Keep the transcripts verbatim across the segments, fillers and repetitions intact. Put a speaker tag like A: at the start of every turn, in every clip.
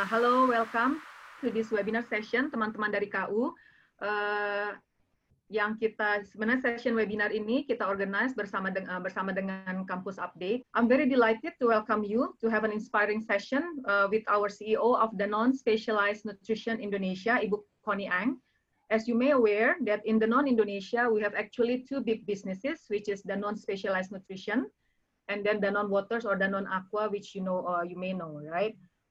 A: hello, welcome to this webinar session, teman-teman dari K U. Uh, yang kita sebenarnya session webinar ini kita organize bersama dengan bersama dengan Campus Update. I'm very delighted to welcome you to have an inspiring session uh, with our C E O of Danone Specialized Nutrition Indonesia, Ibu Connie Ang. As you may aware that in Danone Indonesia we have actually two big businesses, which is Danone Specialized Nutrition and then Danone Waters or Danone Aqua, which you know uh, you may know, right?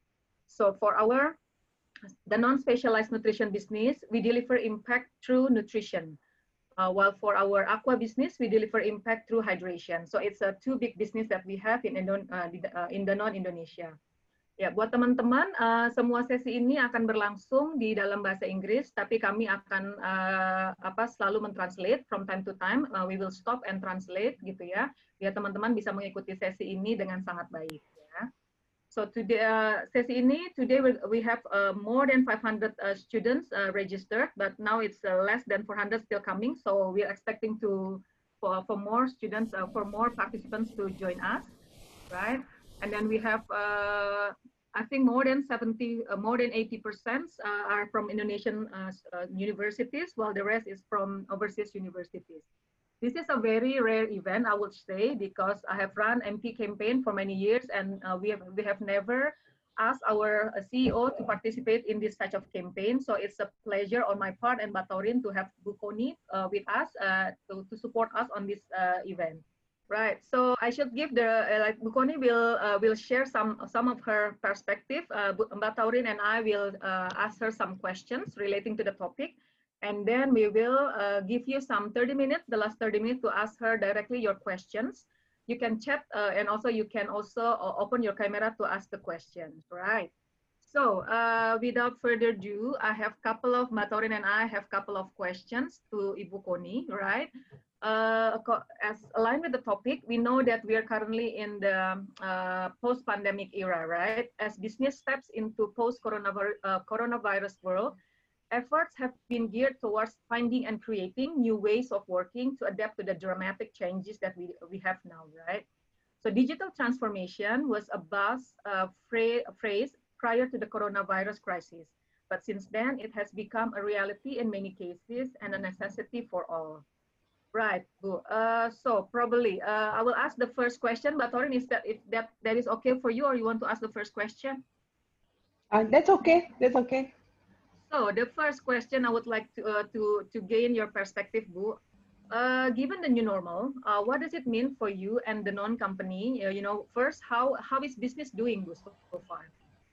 A: So for our Danone Specialized Nutrition business, we deliver impact through nutrition. Uh, while for our aqua business, we deliver impact through hydration. So it's a two big business that we have in, uh, in Danone Indonesia. Ya, buat teman-teman, uh, semua sesi ini akan berlangsung di dalam bahasa Inggris, tapi kami akan uh, apa selalu mentranslate from time to time. Uh, we will stop and translate, gitu ya, biar teman-teman bisa mengikuti sesi ini dengan sangat baik. Ya. So today, uh, sesi ini, today we, we have uh, more than five hundred uh, students uh, registered, but now it's uh, less than four hundred still coming. So we're expecting to for, for more students, uh, for more participants to join us, right? And then we have, uh, I think more than seventy, uh, more than eighty percent uh, are from Indonesian uh, uh, universities, while the rest is from overseas universities. This is a very rare event, I would say, because I have run M P campaign for many years, and uh, we have we have never asked our uh, C E O to participate in this such of campaign. So it's a pleasure on my part and Batorin to have Bu Connie uh, with us uh, to to support us on this uh, event. Right. So I should give the uh, like Bu Connie will uh, will share some some of her perspective. Uh, Batorin and I will uh, ask her some questions relating to the topic. And then we will uh, give you some thirty minutes, the last thirty minutes, to ask her directly your questions. You can chat uh, and also you can also uh, open your camera to ask the questions, right? So uh, without further ado, I have couple of, Matorin and I have couple of questions to Ibu Connie, right? Uh, as aligned with the topic, we know that we are currently in the uh, post-pandemic era, right? As business steps into post-coronavirus uh, coronavirus world, efforts have been geared towards finding and creating new ways of working to adapt to the dramatic changes that we, we have now, right? So digital transformation was a buzz uh, phrase prior to the coronavirus crisis. But since then, it has become a reality in many cases and a necessity for all. Right, good. Uh, so probably uh, I will ask the first question, but Torin, is that if that, that is okay for you, or you want to ask the first question?
B: Uh, that's okay, that's okay.
A: So the first question I would like to uh, to to gain your perspective, Bu. Uh, given the new normal, uh, what does it mean for you and the non-company? Uh, you know, first, how how is business doing, Bu, so, so far?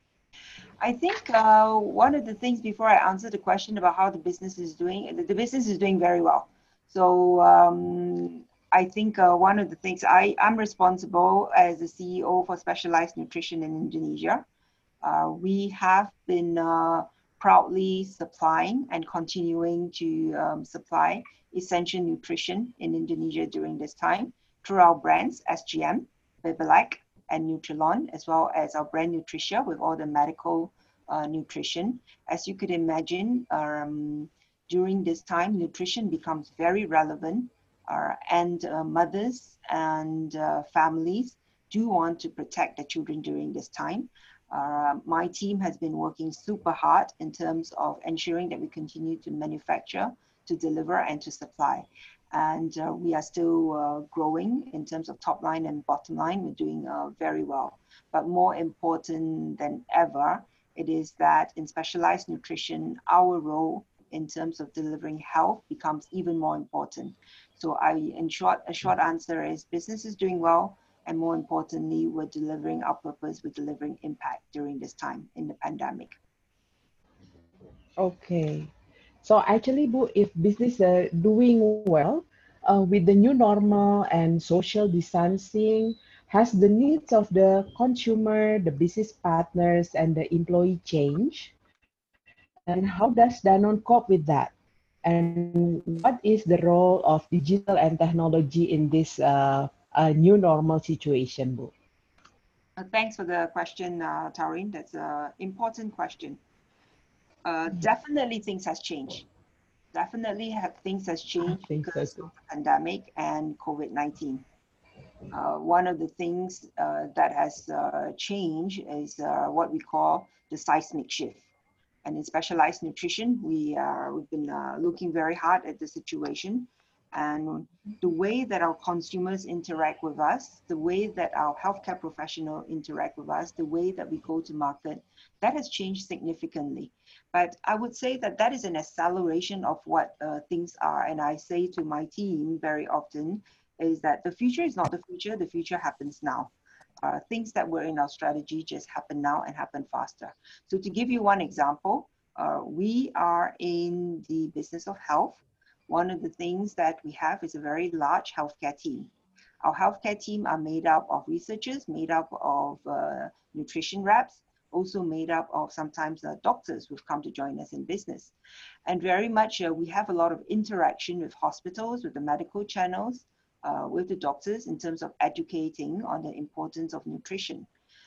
C: I think uh, one of the things before I answer the question about how the business is doing, the, the business is doing very well. So um, I think uh, one of the things I I'm responsible as the C E O for Specialized Nutrition in Indonesia. Uh, we have been uh, proudly supplying and continuing to um, supply essential nutrition in Indonesia during this time through our brands S G M, Bebelac, and Nutrilon, as well as our brand Nutricia with all the medical uh, nutrition. As you could imagine, um, during this time, nutrition becomes very relevant, uh, and uh, mothers and uh, families do want to protect their children during this time. Uh, my team has been working super hard in terms of ensuring that we continue to manufacture, to deliver, and to supply. And uh, we are still uh, growing in terms of top line and bottom line. We're doing uh, very well. But more important than ever, it is that in specialized nutrition, our role in terms of delivering health becomes even more important. So I, in short, a short answer is business is doing well. And more importantly, we're delivering our purpose, we're delivering impact during this time in the pandemic.
B: Okay. So actually, Bu, if business are doing well, uh, with the new normal and social distancing, has the needs of the consumer, the business partners, and the employee changed? And how does Danone cope with that? And what is the role of digital and technology in this uh, uh, new normal situation, Bu?
C: Uh, thanks for the question, uh, Taurine. That's an important question. Uh, definitely things has changed. Definitely have, things has changed because
B: so
C: of the pandemic and COVID nineteen. Uh, one of the things uh, that has uh, changed is uh, what we call the seismic shift. And in specialized nutrition, we are, we've been uh, looking very hard at the situation and the way that our consumers interact with us, the way that our healthcare professionals interact with us, the way that we go to market, that has changed significantly. But I would say that that is an acceleration of what uh, things are. And I say to my team very often is that the future is not the future, the future happens now. Uh, things that were in our strategy just happen now and happen faster. So to give you one example, uh, we are in the business of health. One of the things that we have is a very large healthcare team. Our healthcare team are made up of researchers, made up of uh, nutrition reps, also made up of sometimes uh, doctors who've come to join us in business. And very much uh, we have a lot of interaction with hospitals, with the medical channels, uh, with the doctors in terms of educating on the importance of nutrition.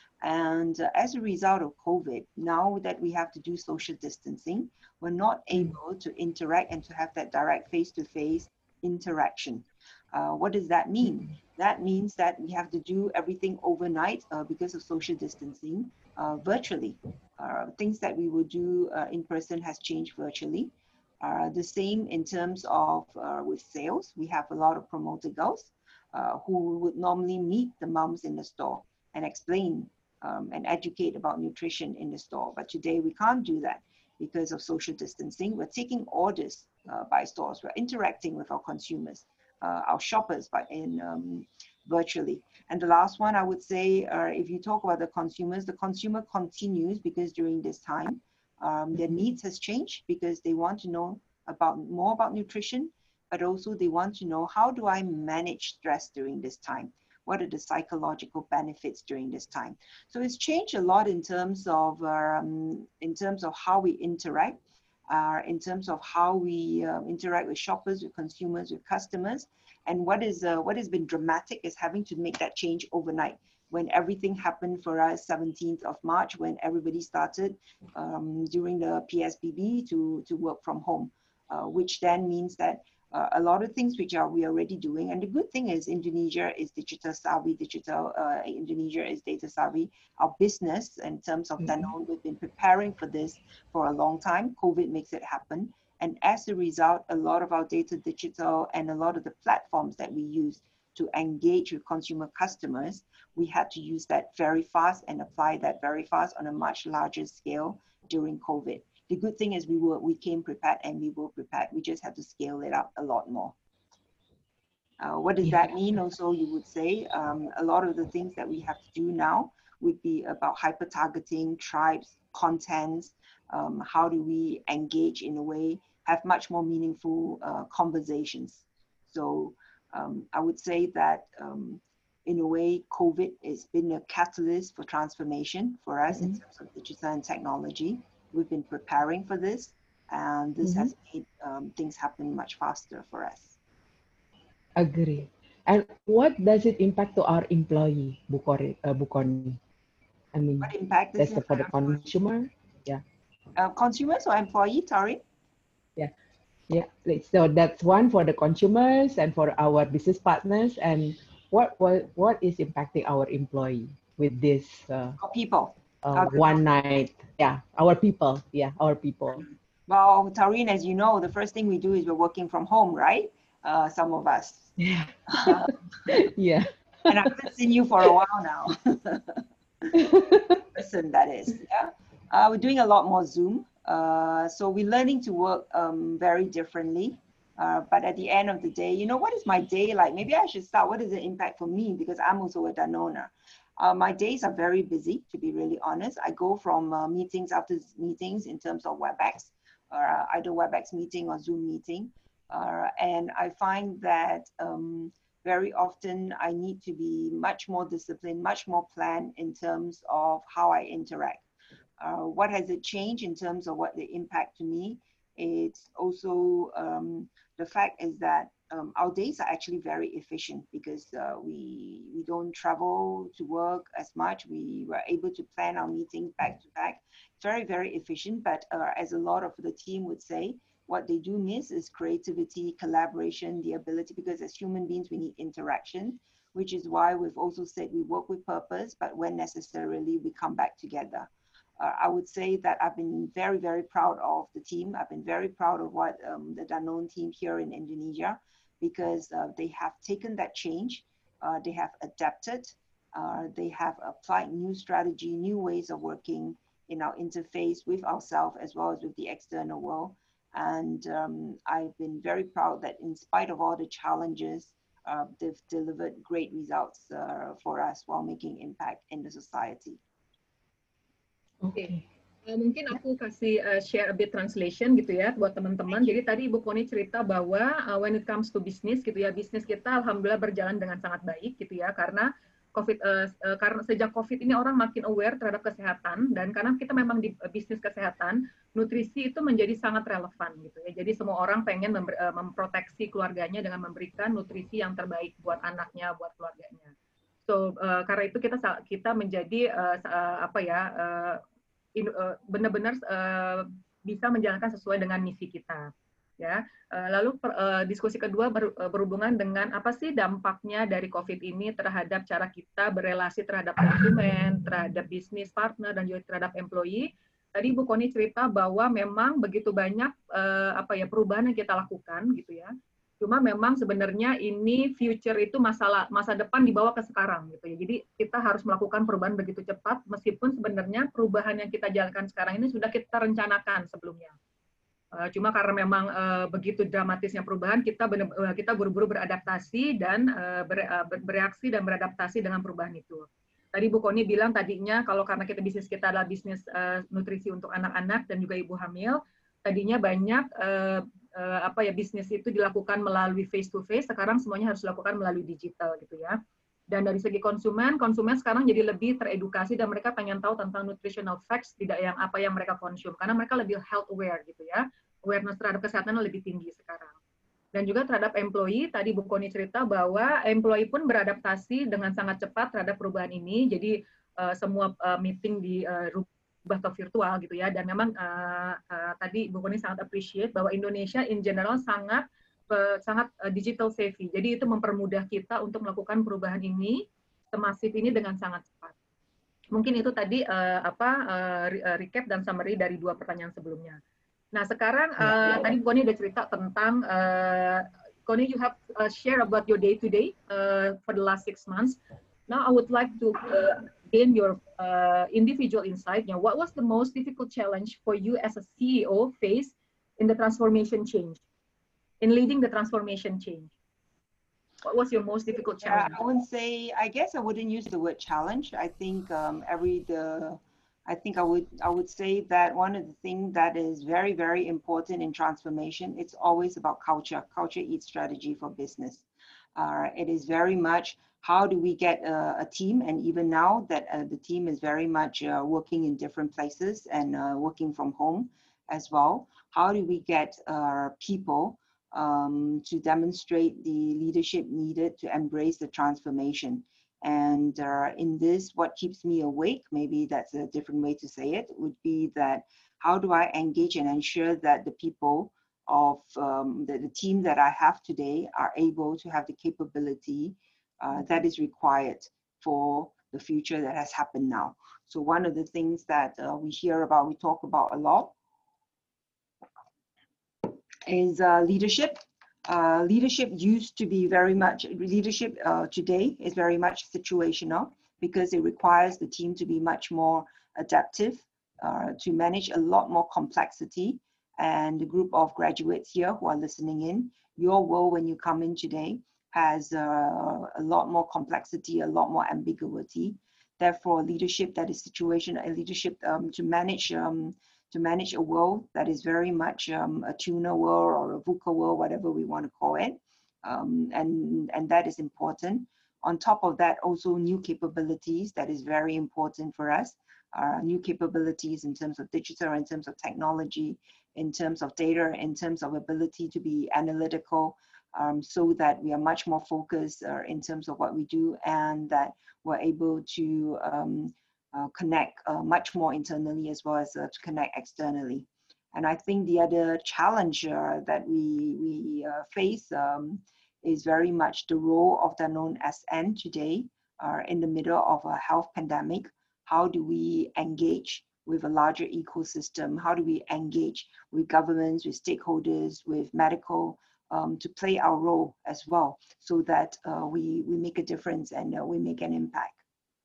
C: And uh, as a result of COVID, now that we have to do social distancing, we're not able to interact and to have that direct face-to-face interaction. Uh, what does that mean? That means that we have to do everything overnight uh, because of social distancing uh, virtually. Uh, things that we would do uh, in person has changed virtually. Uh, the same in terms of uh, with sales. We have a lot of promoter girls uh, who would normally meet the moms in the store and explain um, and educate about nutrition in the store. But today we can't do that because of social distancing. We're taking orders uh, by stores. We're interacting with our consumers, uh, our shoppers, by in um, virtually. And the last one I would say, uh, if you talk about the consumers, the consumer continues because during this time, um, their needs has changed because they want to know about more about nutrition, but also they want to know, how do I manage stress during this time? What are the psychological benefits during this time? So it's changed a lot in terms of um, in terms of how we interact, uh, in terms of how we uh, interact with shoppers, with consumers, with customers. And what is uh, what has been dramatic is having to make that change overnight. When everything happened for us seventeenth of March, when everybody started um, during the P S B B to, to work from home, uh, which then means that uh, a lot of things which are we already doing. And the good thing is Indonesia is digital savvy, digital, uh, Indonesia is data savvy. Our business in terms of Danone, we've been preparing for this for a long time. COVID makes it happen. And as a result, a lot of our data digital and a lot of the platforms that we use to engage with consumer customers, we had to use that very fast and apply that very fast on a much larger scale during COVID. The good thing is we were we came prepared and we were prepared. We just had to scale it up a lot more. Uh, what does that mean? Also, you would say um, a lot of the things that we have to do now would be about hyper targeting, tribes, contents. Um, how do we engage in a way, have much more meaningful uh, conversations? So um, I would say that um, in a way, COVID has been a catalyst for transformation for us mm-hmm. in terms of digital and technology. We've been preparing for this, and this mm-hmm. has made um, things happen much faster for us.
B: Agree. And what does it impact to our employee, Bukori, uh, Bukoni? I mean,
C: what impact does
B: that's
C: it
B: for the consumer? Yeah.
C: Uh, consumers or employee, Tari?
B: Yeah. Yeah. So that's one for the consumers and for our business partners. And what what, what is impacting our employee with this? Uh,
C: our people.
B: Uh, one night. Yeah. Our people. Yeah. Our people.
C: Well, Tareen, as you know, the first thing we do is we're working from home, right? Uh, some of us.
B: Yeah. Yeah.
C: And I haven't seen you for a while now. Listen, that is. Yeah. Uh, we're doing a lot more Zoom. Uh, so we're learning to work um, very differently. Uh, but at the end of the day, you know, what is my day like? Maybe I should start. What is the impact for me? Because I'm also a Danone. Uh, my days are very busy, to be really honest. I go from uh, meetings after meetings in terms of WebEx, or uh, either WebEx meeting or Zoom meeting. Uh, and I find that um, very often I need to be much more disciplined, much more planned in terms of how I interact. Uh, what has it changed in terms of what the impact to me? It's also um, the fact is that um, our days are actually very efficient because uh, we we don't travel to work as much. We were able to plan our meetings back to back. Very, very efficient. But uh, as a lot of the team would say, what they do miss is creativity, collaboration, the ability, because as human beings, we need interaction. which is why we've also said we work with purpose, but when necessarily we come back together. Uh, I would say that I've been very, very proud of the team. I've been very proud of what um, the Danone team here in Indonesia, because uh, they have taken that change, uh, they have adapted, uh, they have applied new strategy, new ways of working in our interface with ourselves as well as with the external world. And um, I've been very proud that in spite of all the challenges, uh, they've delivered great results uh, for us while making impact in the society.
A: Oke, okay. uh, mungkin aku kasih uh, share a bit translation gitu ya buat teman-teman. Jadi tadi Ibu Connie cerita bahwa uh, when it comes to business gitu ya, bisnis kita alhamdulillah berjalan dengan sangat baik gitu ya, karena COVID, uh, uh, karena sejak COVID ini orang makin aware terhadap kesehatan, dan karena kita memang di uh, bisnis kesehatan, nutrisi itu menjadi sangat relevan gitu ya. Jadi semua orang pengen member, uh, memproteksi keluarganya dengan memberikan nutrisi yang terbaik buat anaknya, buat keluarganya. So uh, karena itu kita kita menjadi uh, uh, apa ya uh, uh, benar-benar uh, bisa menjalankan sesuai dengan misi kita. Ya, lalu per, uh, diskusi kedua ber, uh, berhubungan dengan apa sih dampaknya dari COVID ini terhadap cara kita berelasi terhadap konsumen, terhadap bisnis partner, dan juga terhadap employee. Tadi Bu Connie cerita bahwa memang begitu banyak uh, apa ya perubahan yang kita lakukan gitu ya. Cuma memang sebenarnya ini future itu masalah masa depan dibawa ke sekarang gitu ya. Jadi kita harus melakukan perubahan begitu cepat, meskipun sebenarnya perubahan yang kita jalankan sekarang ini sudah kita rencanakan sebelumnya. Uh, cuma karena memang uh, begitu dramatisnya perubahan, kita bener, uh, kita buru-buru beradaptasi dan uh, ber, uh, bereaksi dan beradaptasi dengan perubahan itu. Tadi Bu Connie bilang tadinya kalau karena kita bisnis kita adalah bisnis uh, nutrisi untuk anak-anak dan juga ibu hamil, tadinya banyak uh, uh, apa ya bisnis itu dilakukan melalui face to face, sekarang semuanya harus dilakukan melalui digital gitu ya. Dan dari segi konsumen, konsumen sekarang jadi lebih teredukasi dan mereka pengen tahu tentang nutritional facts, tidak yang apa yang mereka konsum, karena mereka lebih health aware gitu ya. Awareness terhadap kesehatan lebih tinggi sekarang. Dan juga terhadap employee, tadi Bu Connie cerita bahwa employee pun beradaptasi dengan sangat cepat terhadap perubahan ini, jadi uh, semua uh, meeting dirubah ke virtual gitu ya, dan memang uh, uh, tadi Bu Connie sangat appreciate bahwa Indonesia in general sangat uh, sangat uh, digital savvy, jadi itu mempermudah kita untuk melakukan perubahan ini, semasif ini dengan sangat cepat. Mungkin itu tadi uh, apa uh, recap dan summary dari dua pertanyaan sebelumnya. Nah sekarang uh, tadi Bu Connie udah cerita tentang uh, Connie, you have uh, share about your day to day uh, for the last six months. Now I would like to uh, gain your uh, individual insight. You know, what was the most difficult challenge for you as a C E O face in the transformation change, in leading the transformation change? What was your most difficult challenge?
C: Uh, I wouldn't say. I guess I wouldn't use the word challenge. I think um, every the. I think I would I would say that one of the things that is very, very important in transformation, it's always about culture. Culture eats strategy for business. Uh, it is very much how do we get a, a team, and even now that uh, the team is very much uh, working in different places and uh, working from home as well. How do we get our people um, to demonstrate the leadership needed to embrace the transformation? And uh, in this, what keeps me awake, maybe that's a different way to say it, would be that how do I engage and ensure that the people of um, the, the team that I have today are able to have the capability uh, that is required for the future that has happened now. So one of the things that uh, we hear about, we talk about a lot, is uh, leadership. Uh, leadership used to be very much, leadership uh, today is very much situational because it requires the team to be much more adaptive, uh, to manage a lot more complexity. And the group of graduates here who are listening in, your world when you come in today has uh, a lot more complexity, a lot more ambiguity. Therefore, leadership that is situational, a leadership um, to manage um, to manage a world that is very much um, a tuna world or a VUCA world, whatever we want to call it. Um, and, and that is important. On top of that, also new capabilities, that is very important for us. Uh, new capabilities in terms of digital, in terms of technology, in terms of data, in terms of ability to be analytical, um, so that we are much more focused uh, in terms of what we do, and that we're able to um, Uh, connect uh, much more internally as well as uh, to connect externally. And I think the other challenge uh, that we, we uh, face um, is very much the role of Danone S N today, uh, in the middle of a health pandemic. How do we engage with a larger ecosystem? How do we engage with governments, with stakeholders, with medical, um, to play our role as well, so that uh, we, we make a difference and uh, we make an impact.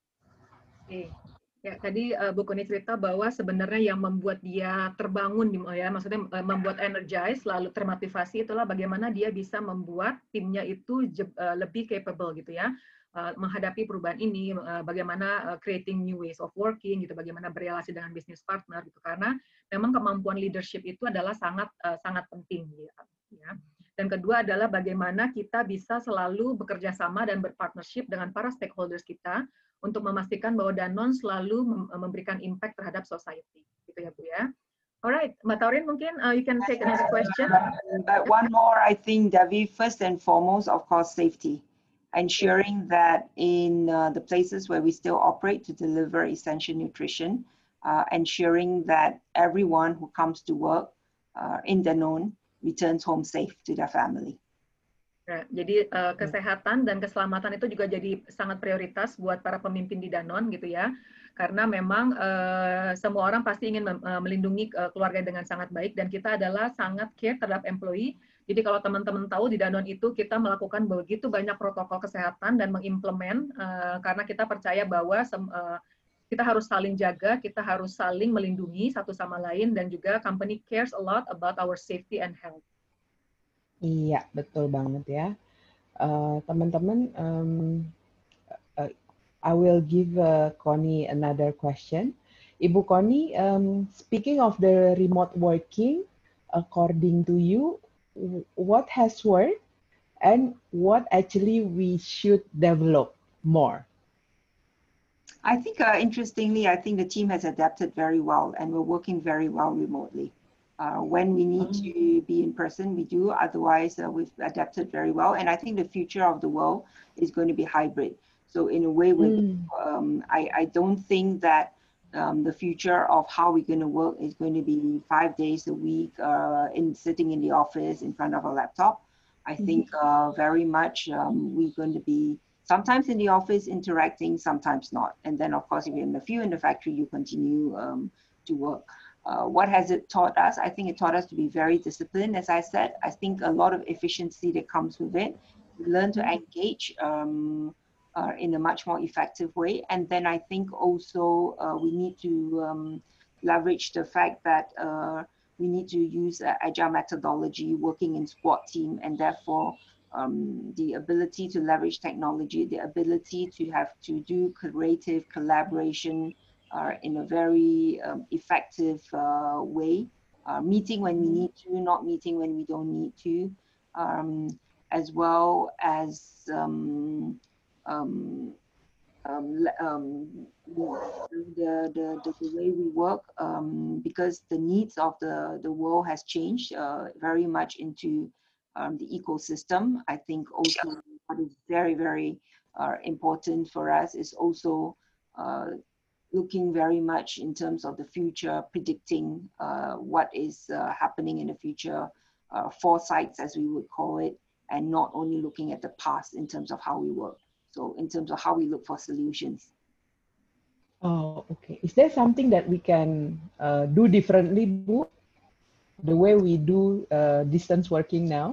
A: Okay. Ya, tadi uh, Bu Connie cerita bahwa sebenarnya yang membuat dia terbangun, ya, maksudnya uh, membuat energize, lalu termotivasi itulah bagaimana dia bisa membuat timnya itu uh, lebih capable gitu ya, uh, menghadapi perubahan ini, uh, bagaimana uh, creating new ways of working gitu, bagaimana berrelasi dengan business partner gitu, karena memang kemampuan leadership itu adalah sangat uh, sangat penting ya. Dan kedua adalah bagaimana kita bisa selalu bekerja sama dan berpartnership dengan para stakeholders kita untuk memastikan bahwa Danone selalu memberikan impact terhadap society, gitu ya Bu ya. Alright, Mbak Taurin mungkin uh, you can take another question.
C: But one more, I think, Devi, first and foremost, of course, safety. Ensuring that in uh, the places where we still operate to deliver essential nutrition, uh, ensuring that everyone who comes to work uh, in Danone returns home safe to their family.
A: Ya, jadi uh, kesehatan dan keselamatan itu juga jadi sangat prioritas buat para pemimpin di Danone gitu ya, karena memang uh, semua orang pasti ingin uh, melindungi uh, keluarga dengan sangat baik, dan kita adalah sangat care terhadap employee. Jadi kalau teman-teman tahu di Danone itu kita melakukan begitu banyak protokol kesehatan dan mengimplement, uh, karena kita percaya bahwa uh, kita harus saling jaga, kita harus saling melindungi satu sama lain, dan juga company cares a lot about our safety and health.
B: Iya, betul banget ya. Teman-teman, uh, um, uh, I will give uh, Connie another question. Ibu Connie, um, speaking of the remote working, according to you, what has worked and what actually we should develop more?
C: I think, uh, interestingly, I think the team has adapted very well, and we're working very well remotely. Uh, when we need to be in person, we do. Otherwise, uh, we've adapted very well. And I think the future of the world is going to be hybrid. So in a way, mm. um, I, I don't think that um, the future of how we're going to work is going to be five days a week uh, in sitting in the office in front of a laptop. I mm-hmm. think uh, very much um, we're going to be sometimes in the office interacting, sometimes not. And then, of course, if you're in a few in the factory, you continue um, to work. Uh, what has it taught us? I think it taught us to be very disciplined. As I said, I think a lot of efficiency that comes with it. We learn to engage um, uh, in a much more effective way. And then I think also uh, we need to um, leverage the fact that uh, we need to use uh, agile methodology, working in squad team, and therefore um, the ability to leverage technology, the ability to have to do creative collaboration Uh, in a very um, effective uh, way, uh, meeting when we need to, not meeting when we don't need to, um, as well as um, um, um, um, the, the, the, the way we work, um, because the needs of the, the world has changed uh, very much into um, the ecosystem. I think also what is very, very uh, important for us is also uh, looking very much in terms of the future, predicting uh, what is uh, happening in the future, uh, foresights as we would call it, and not only looking at the past in terms of how we work. So in terms of how we look for solutions.
B: Oh, okay. Is there something that we can uh, do differently, Bu? The way we do uh, distance working now?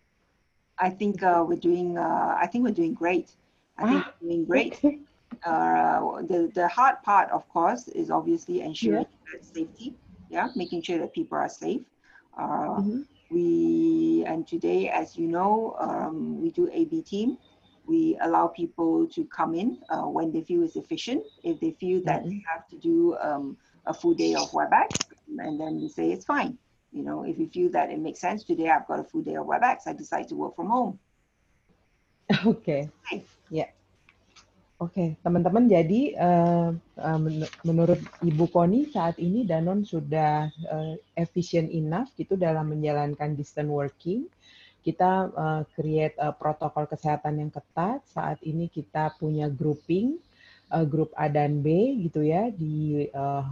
C: I think uh, we're doing. Uh, I think we're doing great. I think
B: ah,
C: we're doing great.
B: Okay.
C: Uh, the, the hard part, of course, is obviously ensuring
B: yeah.
C: that safety, yeah, making sure that people are safe. Uh,
B: mm-hmm.
C: We, and today, as you know, um, we do A B team. We allow people to come in uh, when they feel it's efficient. If they feel that mm-hmm. they have to do um, a full day of WebEx, and then we say it's fine. You know, if you feel that it makes sense, today I've got a full day of WebEx, I decide to work from home.
B: Okay, ya. Yeah. Oke, okay, teman-teman, jadi uh, uh, men menurut Ibu Connie saat ini Danone sudah uh, efficient enough gitu dalam menjalankan distance working. Kita uh, create uh, protokol kesehatan yang ketat. Saat ini kita punya grouping, uh, grup A dan B gitu ya di uh,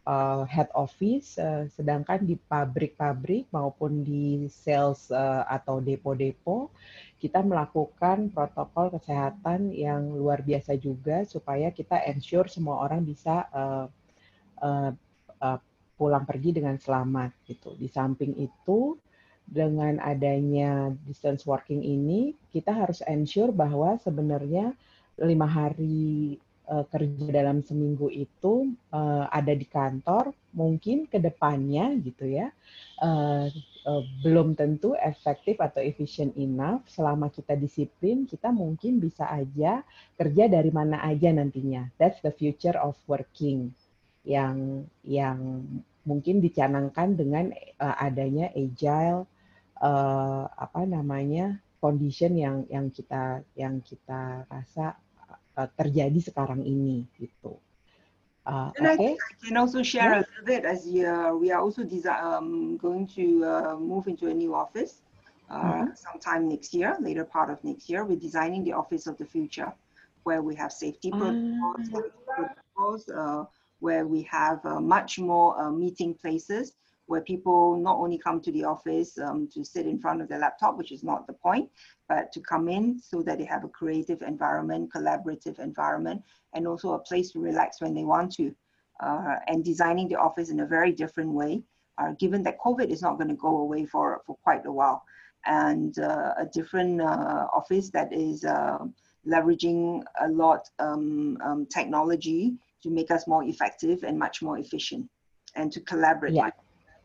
B: uh, head office, uh, sedangkan di pabrik-pabrik maupun di sales uh, atau depo-depo, kita melakukan protokol kesehatan yang luar biasa juga supaya kita ensure semua orang bisa uh, uh, uh, pulang pergi dengan selamat gitu. Di samping itu, dengan adanya distance working ini, kita harus ensure bahwa sebenarnya lima hari uh, kerja dalam seminggu itu uh, ada di kantor, mungkin ke depannya gitu ya, uh, uh, belum tentu efektif atau efficient enough. Selama kita disiplin, kita mungkin bisa aja kerja dari mana aja nantinya. That's the future of working yang yang mungkin dicanangkan dengan uh, adanya agile uh, apa namanya condition yang yang kita yang kita rasa uh, terjadi sekarang ini gitu. Uh,
C: And I
B: okay.
C: think I can also share
B: Yeah.
C: a little bit as uh, we are also um, going to uh, move into a new office uh, mm-hmm. sometime next year, later part of next year. We're designing the office of the future, where we have safety protocols, uh, protocols uh, where we have uh, much more uh, meeting places, where people not only come to the office um, to sit in front of their laptop, which is not the point, but to come in so that they have a creative environment, collaborative environment, and also a place to relax when they want to. Uh, and designing the office in a very different way, uh, given that COVID is not going to go away for, for quite a while. And uh, a different uh, office that is uh, leveraging a lot um, um, technology to make us more effective and much more efficient and to collaborate.
B: Yeah.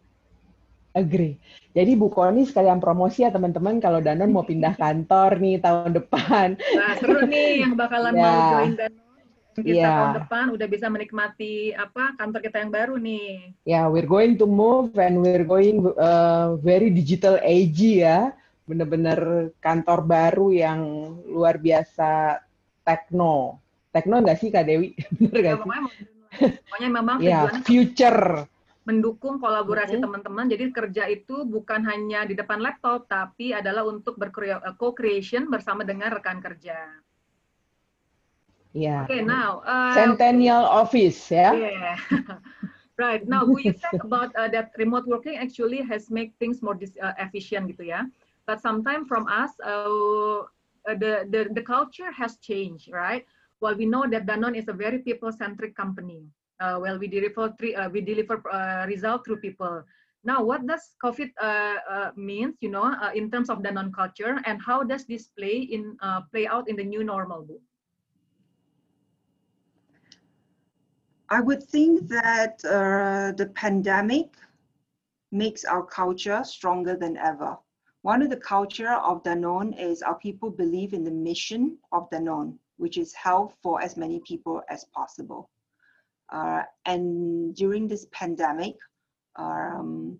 B: Agree. Jadi Bu Koni sekalian promosi ya teman-teman kalau Danone mau pindah kantor nih tahun depan.
A: Nah, seru nih yang bakalan yeah. mau join Danone. Kita yeah. tahun depan udah bisa menikmati apa kantor kita yang baru nih.
B: Ya, yeah, we're going to move and we're going uh, very digital age ya. Bener-bener kantor baru yang luar biasa tekno. Tekno nggak sih Kak Dewi? Bener nggak
A: ya,
B: sih?
A: Pokoknya memang
B: yeah,
A: tujuannya
B: future.
A: Mendukung kolaborasi mm-hmm. teman-teman. Jadi kerja itu bukan hanya di depan laptop, tapi adalah untuk co-creation bersama dengan rekan kerja.
B: Yeah.
A: Okay, now uh,
B: Centennial Office, ya. Yeah?
A: Yeah. Right. Now, we said about uh, that remote working actually has made things more dis- uh, efficient, gitu ya. But sometimes from us, uh, the the the culture has changed, right? Well, we know that Danone is a very people-centric company. Uh, well, we deliver three, uh, we deliver uh, result through people. Now, what does COVID uh, uh, means, you know, uh, in terms of Danone culture, and how does this play in uh, play out in the new normal, Bu?
C: I would think that uh, the pandemic makes our culture stronger than ever. One of the culture of Danone is our people believe in the mission of Danone, which is health for as many people as possible. Uh, and during this pandemic, um,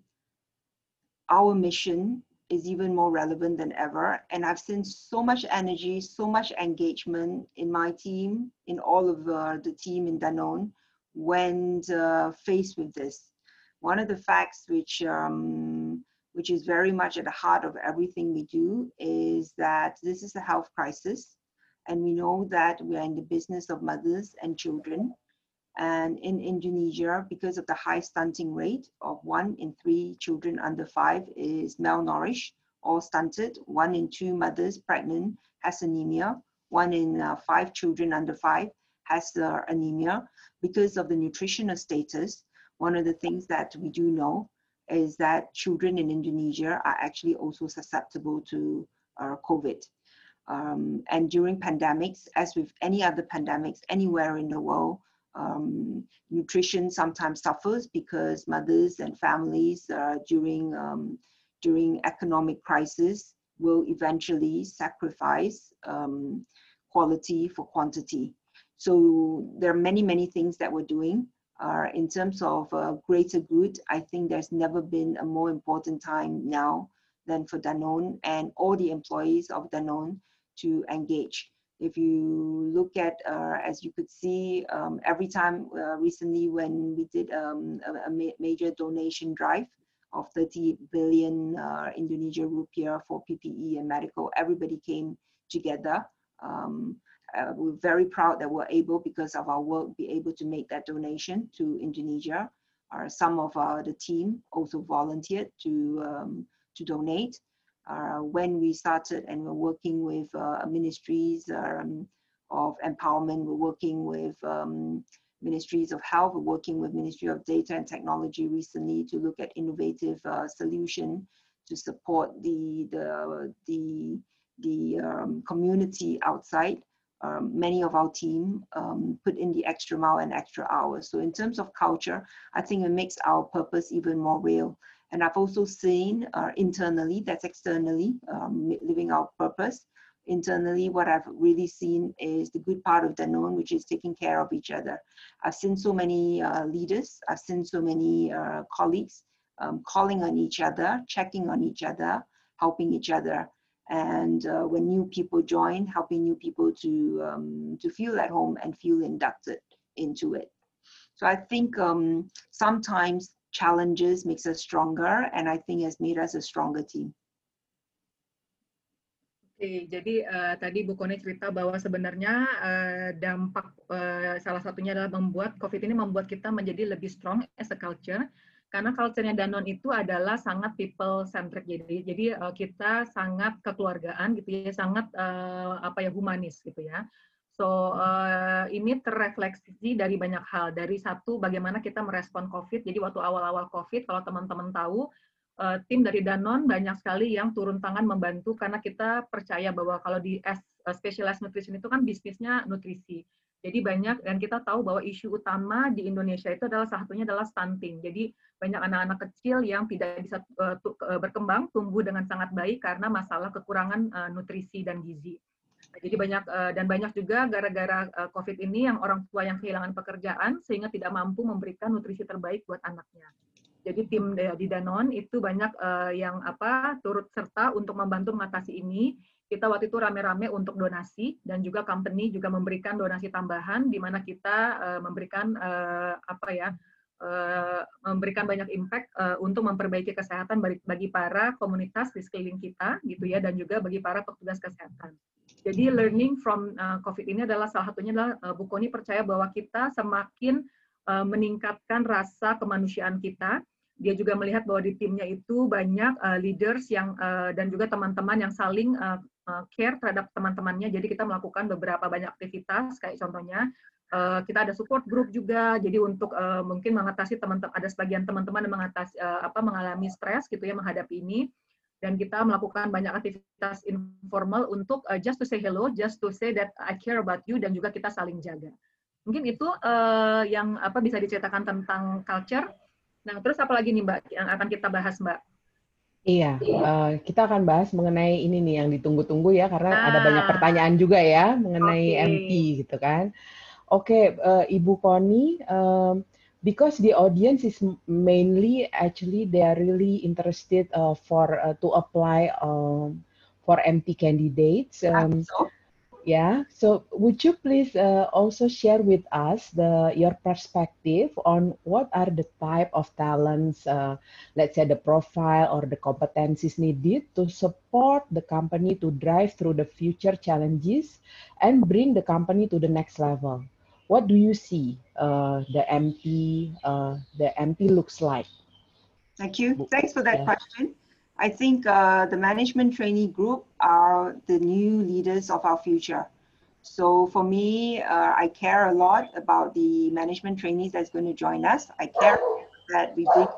C: our mission is even more relevant than ever. And I've seen so much energy, so much engagement in my team, in all of uh, the team in Danone, when uh, faced with this. One of the facts which um, which is very much at the heart of everything we do is that this is a health crisis, and we know that we are in the business of mothers and children. And in Indonesia, because of the high stunting rate of one in three children under five is malnourished or stunted, one in two mothers pregnant has anemia, one in uh, five children under five has uh, anemia. Because of the nutritional status, one of the things that we do know is that children in Indonesia are actually also susceptible to uh, COVID. Um, and during pandemics, as with any other pandemics anywhere in the world, um, nutrition sometimes suffers because mothers and families uh, during, um, during economic crisis will eventually sacrifice um, quality for quantity. So there are many, many things that we're doing. Uh, in terms of uh, greater good, I think there's never been a more important time now than for Danone and all the employees of Danone to engage. If you look at, uh, as you could see, um, every time uh, recently when we did um, a, a ma major donation drive of thirty billion uh, Indonesia rupiah for P P E and medical, everybody came together. Um, Uh, we're very proud that we're able, because of our work, be able to make that donation to Indonesia. Uh, some of uh, the team also volunteered to, um, to donate. Uh, when we started and we're working with uh, ministries um, of empowerment, we're working with um, ministries of health, we're working with Ministry of Data and Technology recently to look at innovative uh, solution to support the, the, the, the um, community outside. Um, many of our team um, put in the extra mile and extra hours. So in terms of culture, I think it makes our purpose even more real. And I've also seen uh, internally, that's externally, um, living our purpose. Internally, what I've really seen is the good part of Danone, which is taking care of each other. I've seen so many uh, leaders, I've seen so many uh, colleagues um, calling on each other, checking on each other, helping each other. And uh, when new people join, helping new people to, um, to feel at home and feel inducted into it. So I think um, sometimes challenges makes us stronger, and I think has made us a stronger team.
A: Oke, jadi uh, tadi Bu Kony cerita bahwa sebenarnya uh, dampak uh, salah satunya adalah membuat COVID ini membuat kita menjadi lebih strong as a culture, karena culture-nya Danone itu adalah sangat people centric, jadi jadi uh, kita sangat kekeluargaan gitu ya, sangat uh, apa ya humanis gitu ya. So uh, ini terrefleksi dari banyak hal. Dari satu, bagaimana kita merespon COVID. Jadi waktu awal-awal COVID, kalau teman-teman tahu, uh, tim dari Danone banyak sekali yang turun tangan membantu, karena kita percaya bahwa kalau di as specialized nutrition itu kan bisnisnya nutrisi. Jadi banyak, dan kita tahu bahwa isu utama di Indonesia itu adalah salah satunya adalah stunting. Jadi banyak anak-anak kecil yang tidak bisa uh, berkembang, tumbuh dengan sangat baik karena masalah kekurangan uh, nutrisi dan gizi. Jadi banyak dan banyak juga gara-gara COVID ini yang orang tua yang kehilangan pekerjaan sehingga tidak mampu memberikan nutrisi terbaik buat anaknya. Jadi tim di Danone itu banyak yang apa turut serta untuk membantu mengatasi ini. Kita waktu itu rame-rame untuk donasi, dan juga company juga memberikan donasi tambahan di mana kita memberikan apa ya memberikan banyak impact untuk memperbaiki kesehatan bagi para komunitas di sekeliling kita gitu ya, dan juga bagi para petugas kesehatan. Jadi learning from uh, COVID ini adalah salah satunya adalah uh, Bu Kony percaya bahwa kita semakin uh, meningkatkan rasa kemanusiaan kita. Dia juga melihat bahwa di timnya itu banyak uh, leaders yang uh, dan juga teman-teman yang saling uh, uh, care terhadap teman-temannya. Jadi kita melakukan beberapa banyak aktivitas, kayak contohnya uh, kita ada support group juga. Jadi untuk uh, mungkin mengatasi teman-teman, ada sebagian teman-teman yang mengatasi uh, apa mengalami stres gitu ya menghadapi ini. Dan kita melakukan banyak aktivitas informal untuk uh, just to say hello, just to say that I care about you, dan juga kita saling jaga. Mungkin itu uh, yang apa bisa diceritakan tentang culture. Nah, terus apa lagi nih Mbak yang akan kita bahas, Mbak?
B: Iya, uh, kita akan bahas mengenai ini nih yang ditunggu-tunggu ya, karena ah, ada banyak pertanyaan juga ya mengenai okay. M P gitu kan. Oke, okay, uh, Ibu Kony, um, because the audience is mainly actually they are really interested uh, for uh, to apply um, for M P candidates. Um, so. Yeah, so would you please uh, also share with us the your perspective on what are the type of talents, uh, let's say the profile or the competencies needed to support the company to drive through the future challenges and bring the company to the next level? What do you see uh, the M P uh, the M P looks like?
C: Thank you. Thanks for that yeah. question. I think uh, the management trainee group are the new leaders of our future. So for me, uh, I care a lot about the management trainees that's going to join us. I care that we bring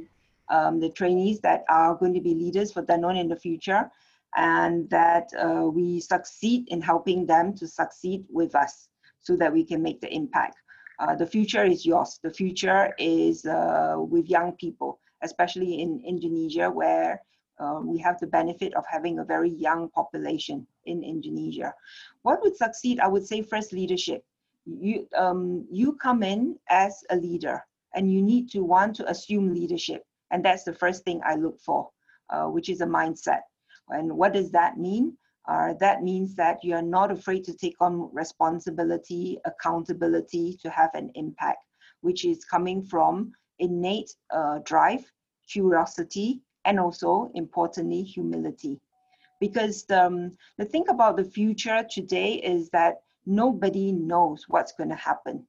C: um, the trainees that are going to be leaders for Danone in the future, and that uh, we succeed in helping them to succeed with us, so that we can make the impact. Uh, the future is yours. The future is uh, with young people, especially in Indonesia, where uh, we have the benefit of having a very young population in Indonesia. What would succeed? I would say first leadership. You, um, you come in as a leader, and you need to want to assume leadership. And that's the first thing I look for, uh, which is a mindset. And what does that mean? Uh, that means that you are not afraid to take on responsibility, accountability, to have an impact, which is coming from innate uh, drive, curiosity, and also, importantly, humility. Because um, the thing about the future today is that nobody knows what's going to happen.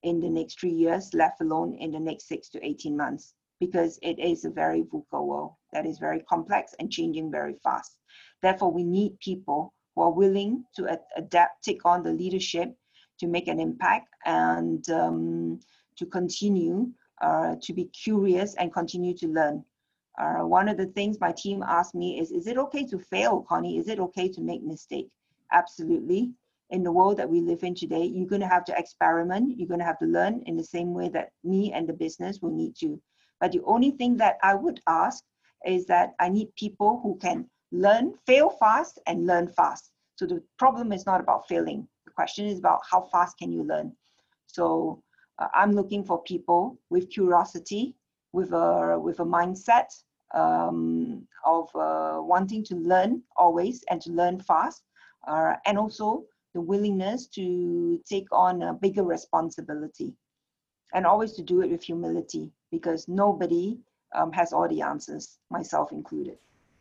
C: in the next three years, let alone in the next six to eighteen months, because it is a very VUCA world that is very complex and changing very fast. Therefore, we need people who are willing to ad adapt, take on the leadership to make an impact, and um, to continue uh, to be curious and continue to learn. Uh, one of the things my team asked me is, is it okay to fail, Connie? Is it okay to make mistake? Absolutely. In the world that we live in today, you're going to have to experiment. You're going to have to learn in the same way that me and the business will need to. But the only thing that I would ask is that I need people who can learn, fail fast and learn fast. So the problem is not about failing. The question is about how fast can you learn. So uh, I'm looking for people with curiosity, with a, with a mindset um, of uh, wanting to learn always and to learn fast, uh, and also the willingness to take on a bigger responsibility, and always to do it with humility, because nobody um, has all the answers, myself included.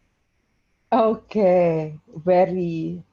B: Okay, very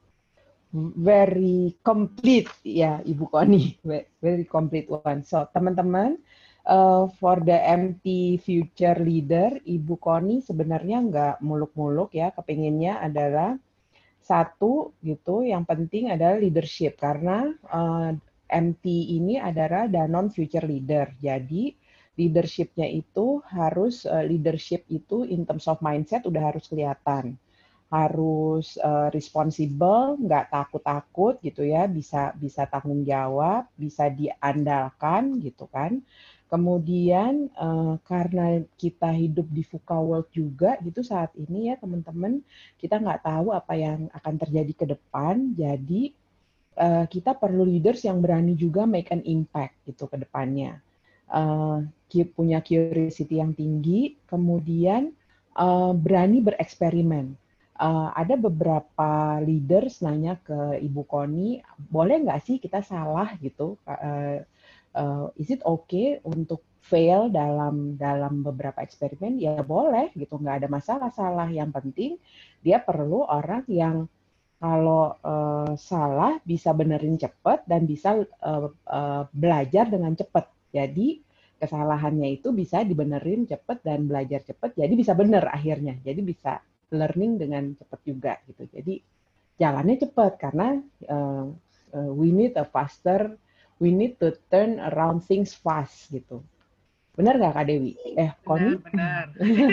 B: very complete ya Ibu Connie, very complete one. So teman-teman, uh, for the M T Future Leader, Ibu Connie sebenarnya nggak muluk-muluk ya, kepinginnya adalah satu gitu, yang penting adalah leadership, karena uh, M T ini adalah Danone Future Leader. Jadi leadership-nya itu harus, uh, leadership itu in terms of mindset udah harus kelihatan. Harus uh, responsible, nggak takut-takut gitu ya, bisa bisa tanggung jawab, bisa diandalkan gitu kan. Kemudian uh, karena kita hidup di VUCA world juga gitu saat ini ya teman-teman, kita nggak tahu apa yang akan terjadi ke depan, jadi uh, kita perlu leaders yang berani juga make an impact gitu ke depannya. Uh, punya curiosity yang tinggi, kemudian uh, berani bereksperimen. Uh, ada beberapa leaders nanya ke Ibu Connie, boleh nggak sih kita salah gitu? Uh, uh, is it okay untuk fail dalam dalam beberapa eksperimen? Ya boleh gitu, nggak ada masalah salah. Yang penting dia perlu orang yang kalau uh, salah bisa benerin cepat dan bisa uh, uh, belajar dengan cepat. Jadi kesalahannya itu bisa dibenerin cepat dan belajar cepat, jadi bisa bener akhirnya. Jadi bisa learning dengan cepat juga gitu. Jadi jalannya cepat karena uh, uh, we need a faster, we need to turn around things fast gitu. Benar nggak Kak Dewi? Eh, Connie?
A: Benar, benar.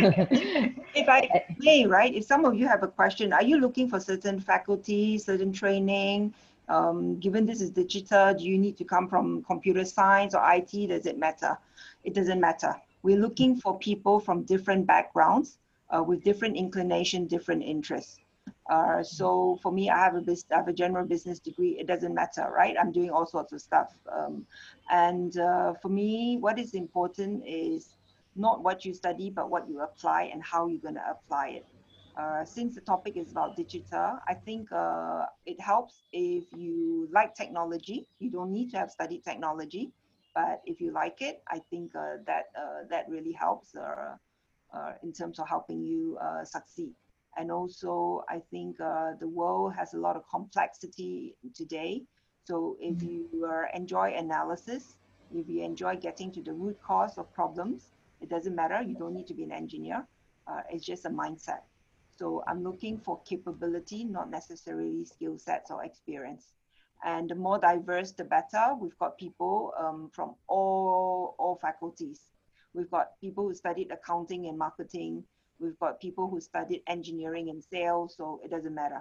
C: If I may, right? If some of you have a question, are you looking for certain faculty, certain training? Um, given this is digital, do you need to come from computer science or I T? Does it matter? It doesn't matter. We're looking for people from different backgrounds, uh, with different inclination, different interests. Uh, so for me, I have a business, I have a general business degree. It doesn't matter, right? I'm doing all sorts of stuff. Um, and uh, for me, what is important is not what you study, but what you apply and how you're going to apply it. Uh, since the topic is about digital, I think uh, it helps if you like technology. You don't need to have studied technology, but if you like it, I think uh, that uh, that really helps uh, uh, in terms of helping you uh, succeed. And also, I think uh, the world has a lot of complexity today. So if you uh, enjoy analysis, if you enjoy getting to the root cause of problems, it doesn't matter. You don't need to be an engineer. Uh, it's just a mindset. So I'm looking for capability, not necessarily skill sets or experience. And the more diverse, the better. We've got people um, from all, all faculties. We've got people who studied accounting and marketing. We've got people who studied engineering and sales, so it doesn't matter.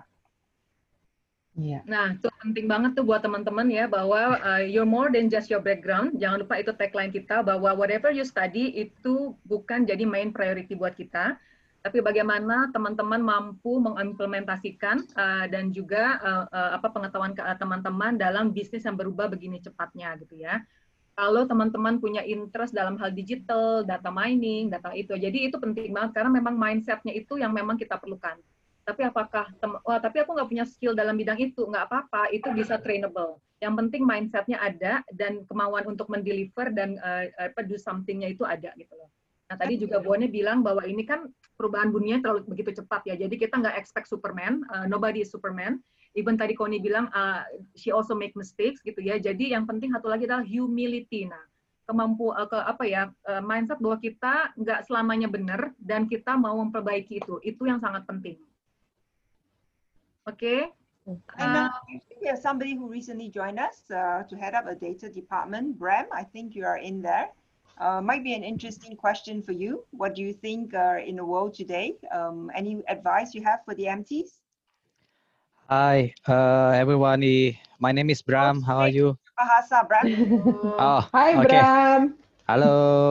B: Yeah.
A: Nah, itu penting banget tuh buat teman-teman ya, bahwa uh, you're more than just your background. Jangan lupa itu tagline kita, bahwa whatever you study itu bukan jadi main priority buat kita, tapi bagaimana teman-teman mampu mengimplementasikan uh, dan juga uh, uh, apa pengetahuan teman-teman dalam bisnis yang berubah begini cepatnya gitu ya. Kalau teman-teman punya interest dalam hal digital, data mining, data itu, jadi itu penting banget karena memang mindset-nya itu yang memang kita perlukan. Tapi apakah, wah tapi aku nggak punya skill dalam bidang itu, nggak apa-apa, itu bisa trainable. Yang penting mindset-nya ada dan kemauan untuk mendeliver dan uh, apa do something-nya itu ada gitu loh. Nah tadi juga Bone bilang bahwa ini kan perubahan dunia terlalu begitu cepat ya, jadi kita nggak expect Superman, uh, nobody is Superman. even tadi Connie bilang uh, she also make mistakes gitu ya. Jadi yang penting satu lagi adalah humility. Nah, kemampu uh, ke apa ya uh, mindset bahwa kita nggak selamanya benar dan kita mau memperbaiki itu. Itu yang sangat penting. Oke. Okay?
C: And uh, I think we have somebody who recently joined us uh, to head up a data department. Bram, I think you are in there. Uh, might be an interesting question for you. What do you think uh, in the world today? Um, any advice you have for the M Ts?
D: Hi, uh, everyone. My name is Bram. How are you?
C: Bahasa, Bram.
D: Oh,
B: Hi,
D: okay.
B: Bram.
D: Halo.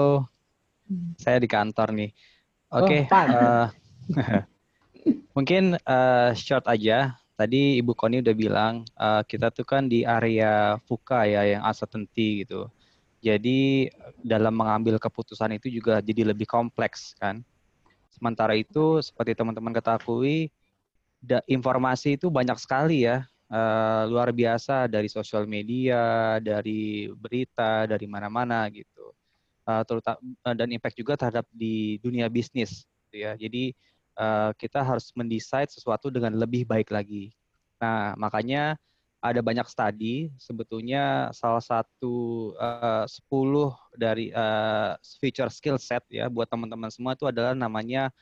D: Saya di kantor nih. Oke. Okay,
B: oh,
D: uh, mungkin uh, short aja. Tadi Ibu Connie udah bilang uh, kita tuh kan di area VUCA ya, yang uncertainty gitu. Jadi dalam mengambil keputusan itu juga jadi lebih kompleks kan. Sementara itu seperti teman-teman ketahui, da, informasi itu banyak sekali ya, uh, luar biasa dari sosial media, dari berita, dari mana-mana gitu. Uh, terutama dan impact juga terhadap di dunia bisnis gitu ya. Jadi Uh, kita harus mendesain sesuatu dengan lebih baik lagi. Nah, makanya ada banyak studi, sebetulnya salah satu uh, sepuluh dari uh, feature skill set ya buat teman-teman semua itu adalah namanya,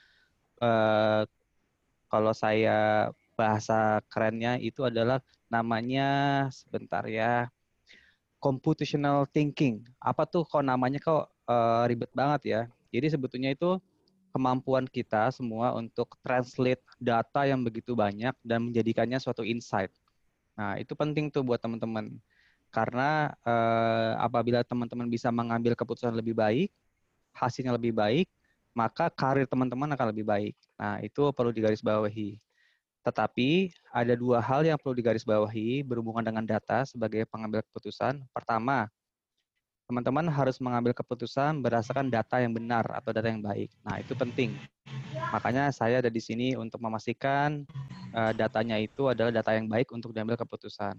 D: uh, kalau saya bahasa kerennya itu adalah namanya, sebentar ya, computational thinking. Apa tuh kok namanya kok uh, ribet banget ya. Jadi sebetulnya itu kemampuan kita semua untuk translate data yang begitu banyak dan menjadikannya suatu insight. Nah, itu penting tuh buat teman-teman. Karena eh, apabila teman-teman bisa mengambil keputusan lebih baik, hasilnya lebih baik, maka karir teman-teman akan lebih baik. Nah, itu perlu digarisbawahi. Tetapi ada dua hal yang perlu digarisbawahi berhubungan dengan data sebagai pengambil keputusan. Pertama, teman-teman harus mengambil keputusan berdasarkan data yang benar atau data yang baik. Nah, itu penting. Makanya saya ada di sini untuk memastikan uh, datanya itu adalah data yang baik untuk diambil keputusan.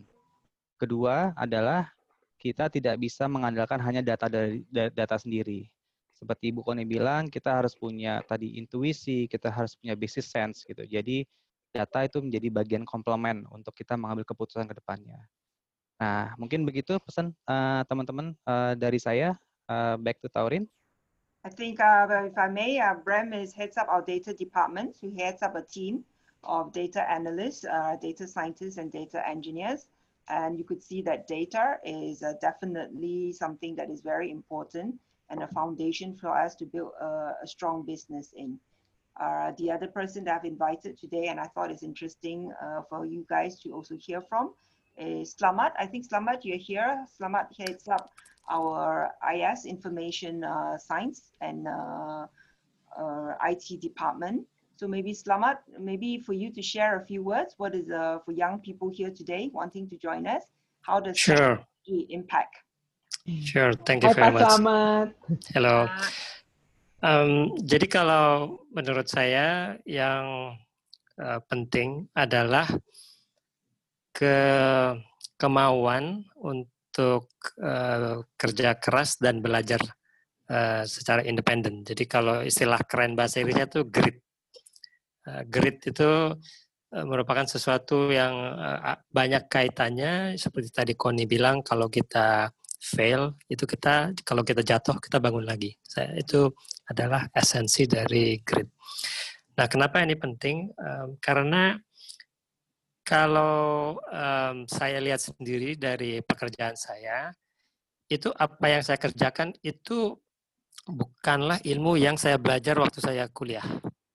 D: Kedua adalah kita tidak bisa mengandalkan hanya data dari data sendiri. Seperti Ibu Connie bilang, kita harus punya tadi intuisi, kita harus punya business sense gitu. Jadi data itu menjadi bagian komplement untuk kita mengambil keputusan ke depannya. Nah, mungkin begitu pesan teman-teman uh, uh, dari saya. Uh, back to Taurin.
C: I think, uh, if I may, uh, Bram is heads up our data department. He heads up a team of data analysts, uh, data scientists, and data engineers. And you could see that data is uh, definitely something that is very important and a foundation for us to build a, a strong business in. Uh, the other person that I've invited today, and I thought is interesting uh, for you guys to also hear from, is Slamet. I think Slamet, you're here. Slamet heads up our I S, Information uh, Science and uh, uh, I T department. So maybe Slamet, maybe for you to share a few words, what is uh, for young people here today wanting to join us, how does
E: sure.
C: technology impact?
E: Sure, thank you
B: Hai,
E: very
B: Pak
E: much.
B: Slamet.
E: Hello. Um, jadi kalau menurut saya yang uh, penting adalah ke kemauan untuk uh, kerja keras dan belajar uh, secara independen. Jadi kalau istilah keren bahasa Inggrisnya itu grit. Uh, grit itu uh, merupakan sesuatu yang uh, banyak kaitannya, seperti tadi Connie bilang, kalau kita fail, itu kita, kalau kita jatuh, kita bangun lagi. Saya, itu adalah esensi dari grit. Nah, kenapa ini penting? Um, karena kalau um, saya lihat sendiri dari pekerjaan saya, itu apa yang saya kerjakan itu bukanlah ilmu yang saya belajar waktu saya kuliah.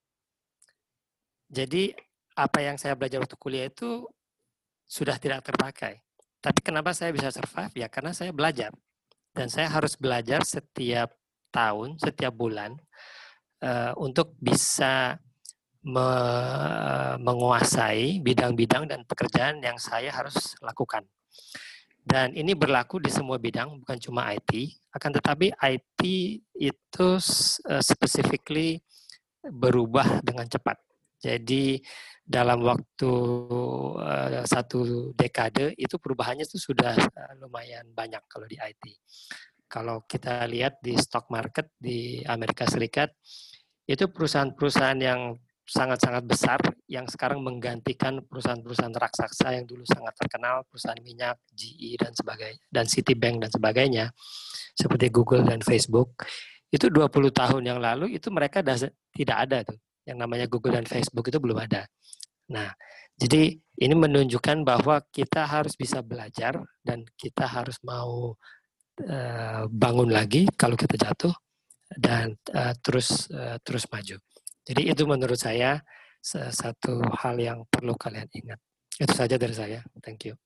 E: Jadi apa yang saya belajar waktu kuliah itu sudah tidak terpakai. Tapi kenapa saya bisa survive? Ya karena saya belajar. Dan saya harus belajar setiap tahun, setiap bulan, uh, untuk bisa me menguasai bidang-bidang dan pekerjaan yang saya harus lakukan. Dan ini berlaku di semua bidang, bukan cuma I T. Akan tetapi I T itu uh, specifically berubah dengan cepat. Jadi dalam waktu uh, satu dekade itu perubahannya itu sudah uh, lumayan banyak kalau di I T. Kalau kita lihat di stock market di Amerika Serikat, itu perusahaan-perusahaan yang sangat-sangat besar yang sekarang menggantikan perusahaan-perusahaan raksasa yang dulu sangat terkenal, perusahaan minyak, G E dan sebagainya, dan Citibank dan sebagainya, seperti Google dan Facebook. Itu dua puluh tahun yang lalu itu mereka das- tidak ada tuh. Yang namanya Google dan Facebook itu belum ada. Nah, jadi ini menunjukkan bahwa kita harus bisa belajar dan kita harus mau uh, bangun lagi kalau kita jatuh dan uh, terus uh, terus maju. Jadi itu menurut saya satu hal yang perlu kalian ingat. Itu saja dari saya. Thank you.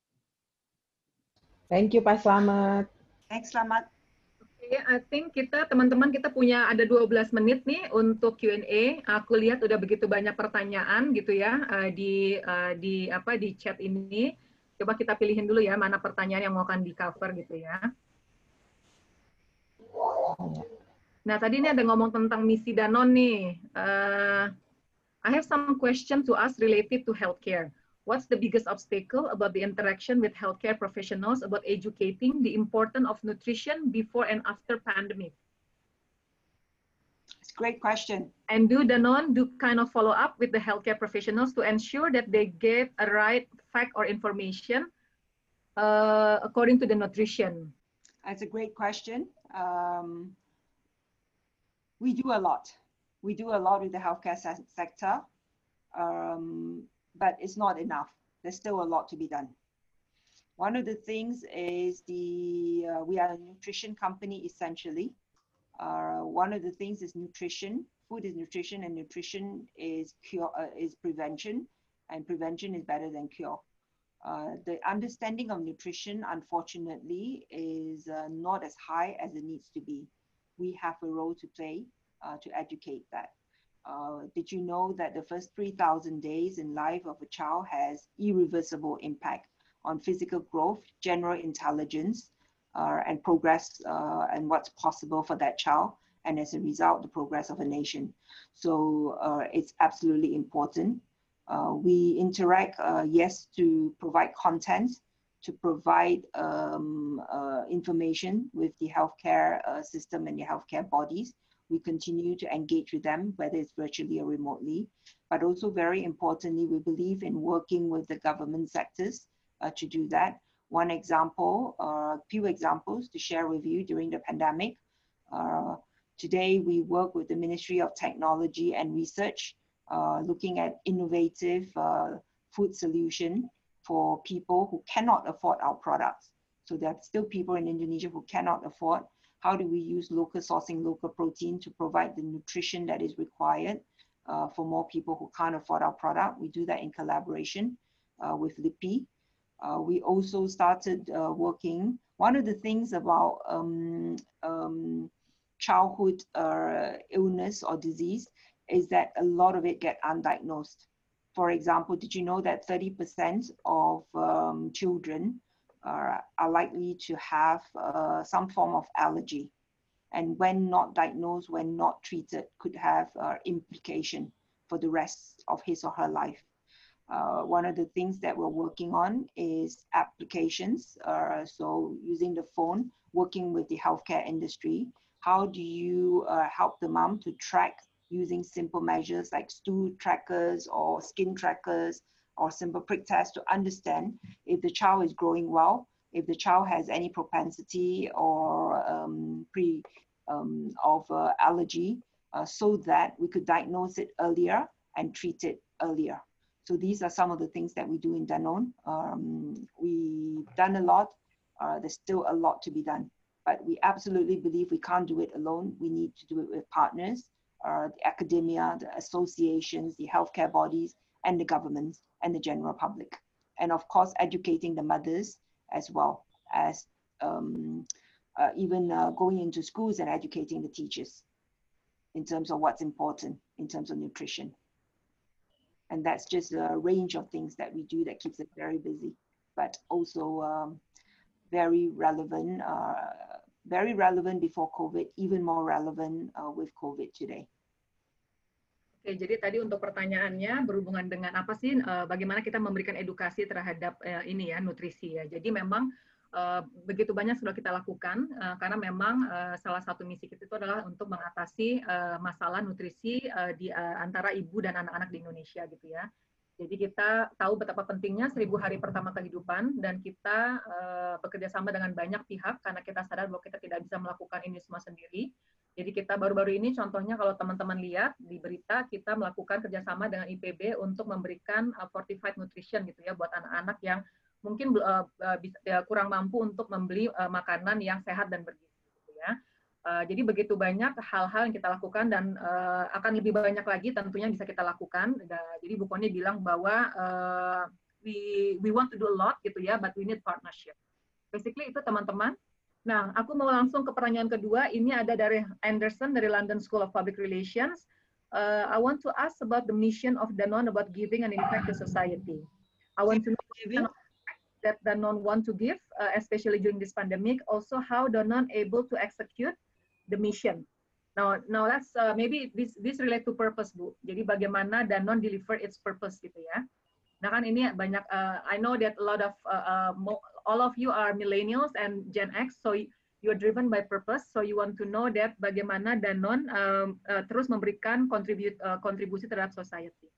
B: Thank you Pak Slamet.
C: Thanks Slamet.
A: Oke, I think kita teman-teman kita punya ada dua belas menit nih untuk Q and A. Aku lihat udah begitu banyak pertanyaan gitu ya uh, di uh, di apa di chat ini. Coba kita pilihin dulu ya mana pertanyaan yang mau akan di cover gitu ya. Nah, tadi ini ada ngomong tentang misi Danone nih. Uh, I have some question to ask related to healthcare. What's the biggest obstacle about the interaction with healthcare professionals about educating the importance of nutrition before and after pandemic?
C: It's a great question.
A: And do Danone do kind of follow up with the healthcare professionals to ensure that they get a right fact or information uh, according to the nutrition?
C: That's a great question. Um, we do a lot. We do a lot with the healthcare se sector, um, but it's not enough. There's still a lot to be done. One of the things is the, uh, we are a nutrition company essentially. Uh, one of the things is nutrition. Food is nutrition and nutrition is cure, uh, is prevention, and prevention is better than cure. Uh, the understanding of nutrition, unfortunately, is uh, not as high as it needs to be. We have a role to play uh, to educate that. Uh, did you know that the first three thousand days in life of a child has irreversible impact on physical growth, general intelligence, uh, and progress, uh, and what's possible for that child, and as a result, the progress of a nation. So uh, it's absolutely important. Uh, we interact, uh, yes, to provide content, to provide um, uh, information with the healthcare uh, system and the healthcare bodies. We continue to engage with them, whether it's virtually or remotely. But also very importantly, we believe in working with the government sectors uh, to do that. One example, a uh, few examples to share with you during the pandemic. Uh, today, we work with the Ministry of Technology and Research, uh, looking at innovative uh, food solution for people who cannot afford our products. So there are still people in Indonesia who cannot afford. How do we use local sourcing, local protein to provide the nutrition that is required uh, for more people who can't afford our product? We do that in collaboration uh, with L I P I. Uh, we also started uh, working. One of the things about um, um, childhood uh, illness or disease is that a lot of it get undiagnosed. For example, did you know that thirty percent of um, children are, are likely to have uh, some form of allergy? And when not diagnosed, when not treated, could have uh, implication for the rest of his or her life. Uh, one of the things that we're working on is applications. Uh, so using the phone, working with the healthcare industry. How do you uh, help the mom to track using simple measures like stool trackers or skin trackers or simple prick tests to understand if the child is growing well, if the child has any propensity or um, pre um, of uh, allergy, uh, so that we could diagnose it earlier and treat it earlier. So these are some of the things that we do in Danone. Um, we've done a lot. Uh, there's still a lot to be done, but we absolutely believe we can't do it alone. We need to do it with partners, uh, the academia, the associations, the healthcare bodies, and the governments and the general public. And of course, educating the mothers as well as um, uh, even uh, going into schools and educating the teachers in terms of what's important in terms of nutrition. And that's just a range of things that we do that keeps us very busy, but also um, very relevant, uh, very relevant before COVID, even more relevant uh, with COVID today.
A: Oke, jadi tadi untuk pertanyaannya berhubungan dengan apa sih, uh, bagaimana kita memberikan edukasi terhadap uh, ini ya, nutrisi ya. Jadi memang uh, begitu banyak sudah kita lakukan uh, karena memang uh, salah satu misi kita itu adalah untuk mengatasi uh, masalah nutrisi uh, di uh, antara ibu dan anak-anak di Indonesia gitu ya. Jadi kita tahu betapa pentingnya seribu hari pertama kehidupan dan kita uh, bekerja sama dengan banyak pihak karena kita sadar bahwa kita tidak bisa melakukan ini semua sendiri. Jadi kita baru-baru ini contohnya kalau teman-teman lihat di berita kita melakukan kerjasama dengan I P B untuk memberikan uh, fortified nutrition gitu ya buat anak-anak yang mungkin uh, uh, bisa, ya, kurang mampu untuk membeli uh, makanan yang sehat dan bergizi gitu ya. Uh, jadi begitu banyak hal-hal yang kita lakukan dan uh, akan lebih banyak lagi tentunya bisa kita lakukan. Jadi Bu Kony bilang bahwa uh, we we want to do a lot gitu ya, but we need partnership. Basically itu teman-teman. Nah, aku mau langsung ke pertanyaan kedua. Ini ada dari Anderson dari London School of Public Relations. Uh, I want to ask about the mission of Danone about giving an impact to society. I want to know that Danone want to give, uh, especially during this pandemic. Also, how Danone able to execute the mission. Now, now let's uh, maybe this this relate to purpose, Bu. Jadi bagaimana Danone deliver its purpose gitu ya. Nah kan ini banyak. Uh, I know that a lot of uh, uh, all of you are millennials and Gen X, so you are driven by purpose. So you want to know that bagaimana Danone um, uh, terus memberikan kontribu uh, kontribusi terhadap society.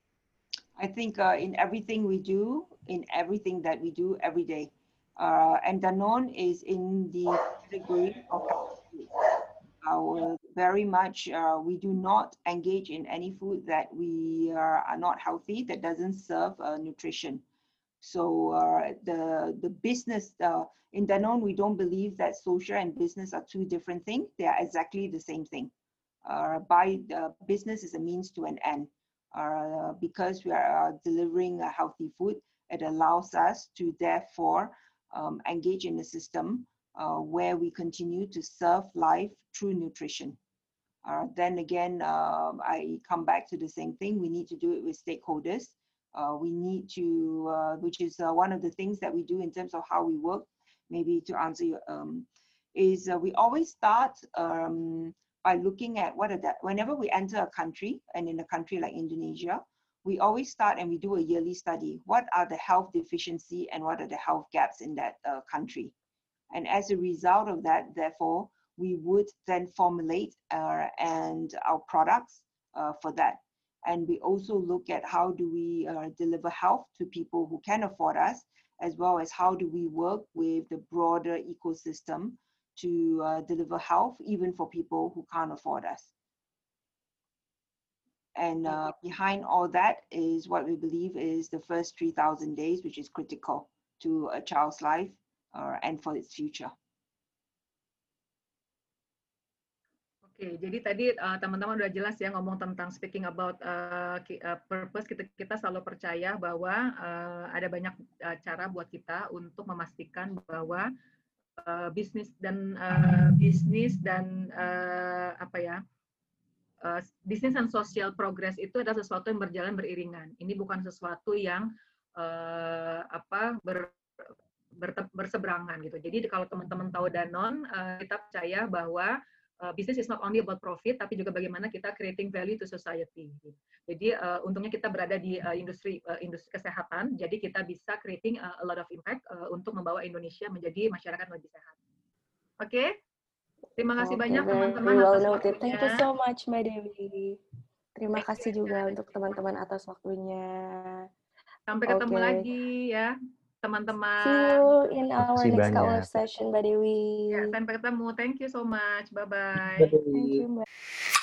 C: I think uh, in everything we do, in everything that we do every day, uh, and Danone is in the category of our very much, uh, we do not engage in any food that we uh, are not healthy, that doesn't serve uh, nutrition. So uh, the, the business, uh, in Danone, we don't believe that social and business are two different things. They are exactly the same thing. Uh, by uh, business is a means to an end. Uh, because we are uh, delivering a healthy food, it allows us to therefore um, engage in a system Uh, where we continue to serve life through nutrition. Uh, then again, uh, I come back to the same thing. We need to do it with stakeholders. Uh, we need to, uh, which is uh, one of the things that we do in terms of how we work, maybe to answer your, um, is uh, we always start um, by looking at what are that, whenever we enter a country, and in a country like Indonesia, we always start and we do a yearly study. What are the health deficiency and what are the health gaps in that uh, country? And as a result of that, therefore, we would then formulate uh, and our products uh, for that. And we also look at how do we uh, deliver health to people who can afford us, as well as how do we work with the broader ecosystem to uh, deliver health even for people who can't afford us. And uh, behind all that is what we believe is the first three thousand days, which is critical to a child's life. Uh, and for its future.
A: Oke, okay, jadi tadi teman-teman uh, udah jelas ya ngomong tentang speaking about uh, purpose. Kita, kita selalu percaya bahwa uh, ada banyak uh, cara buat kita untuk memastikan bahwa uh, bisnis dan uh, bisnis dan uh, apa ya uh, bisnis dan social progress itu adalah sesuatu yang berjalan beriringan. Ini bukan sesuatu yang uh, apa ber berseberangan gitu. Jadi kalau teman-teman tahu Danone, uh, kita percaya bahwa uh, business is not only about profit, tapi juga bagaimana kita creating value to society. Gitu. Jadi uh, untungnya kita berada di uh, industri uh, industri kesehatan, jadi kita bisa creating uh, a lot of impact uh, untuk membawa Indonesia menjadi masyarakat yang lebih sehat. Oke, okay? Terima kasih okay, banyak teman-teman
F: well
A: atas
F: waktunya.
A: Thank
F: you so much Mbak Dewi. Terima Thank kasih juga ya. Untuk teman-teman atas waktunya.
A: Sampai ketemu okay. lagi ya. Teman-teman.
F: See you in our next K U F session, Mbak Dewi.
A: Ya, sampai ketemu. Thank you so much. Bye-bye.
F: Thank you, Mbak.